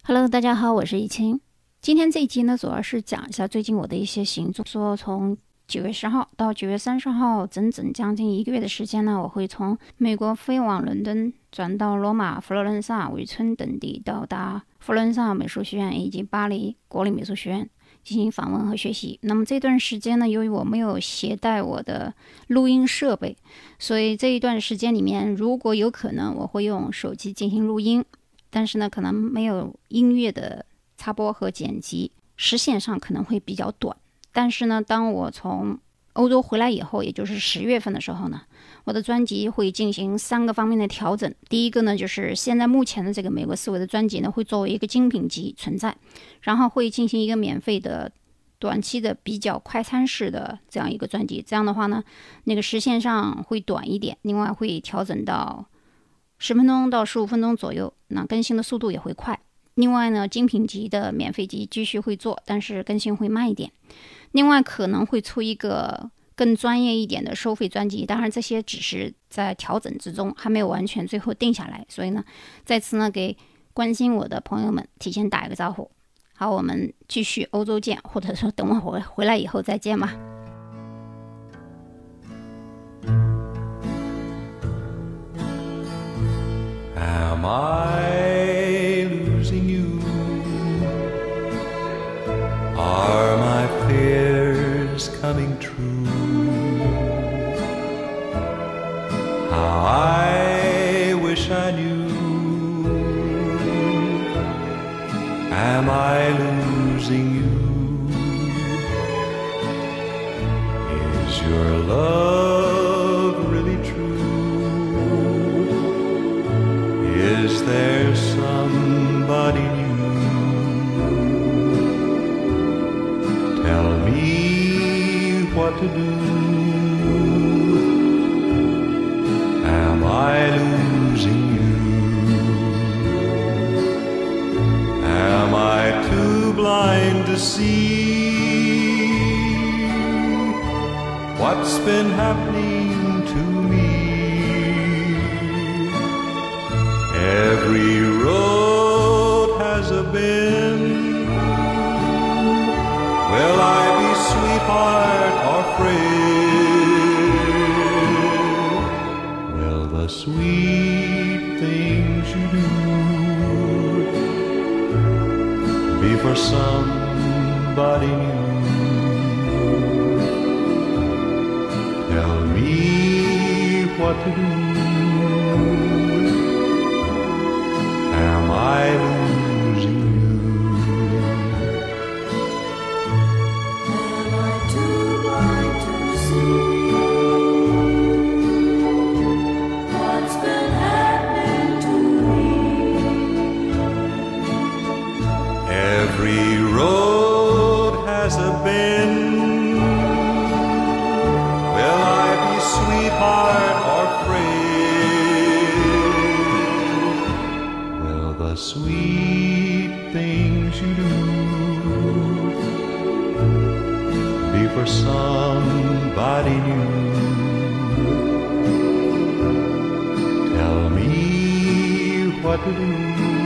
Hello， 大家好，我是易清。今天这一集呢，主要是讲一下最近我的一些行踪。说从9月10号到9月30号，整整将近1个月的时间呢，我会从美国飞往伦敦，转到罗马、佛罗伦萨、维村等地，到达佛罗伦萨美术学院以及巴黎国立美术学院进行访问和学习。那么这段时间呢，由于我没有携带我的录音设备，所以这一段时间里面，如果有可能，我会用手机进行录音。但是呢，可能没有音乐的插播和剪辑，时限上可能会比较短。但是呢，当我从欧洲回来以后，也就是10月份的时候呢，我的专辑会进行3个方面的调整。第一个呢，就是现在目前的这个美国思维的专辑呢，会作为一个精品集存在，然后会进行一个免费的短期的比较快餐式的这样一个专辑。这样的话呢，那个时限上会短一点，另外会调整到10分钟到15分钟左右，那更新的速度也会快。另外呢，精品级的免费集继续会做，但是更新会慢一点。另外可能会出一个更专业一点的收费专辑，当然这些只是在调整之中，还没有完全最后定下来。所以呢，在此呢，给关心我的朋友们提前打一个招呼。好，我们继续欧洲见，或者说等我回来以后再见吧。 Am I losing you? Are my fears coming true? How I wish I knew. Am I losing you? Is your love really true? Is there somebody new? Tell me what to do. Am I losing you? Am I too blind to see what's been happening to me? Every road has a bend. Will I be sweetheart or friend? Will the sweet things you do be for somebody new? Tell me what to do. Am I losing you? Am I too blind to see what's been happening to me? Every road has a bend. Will I be sweetheart or friend? Will the sweet things you do be for somebody new? Tell me what to do.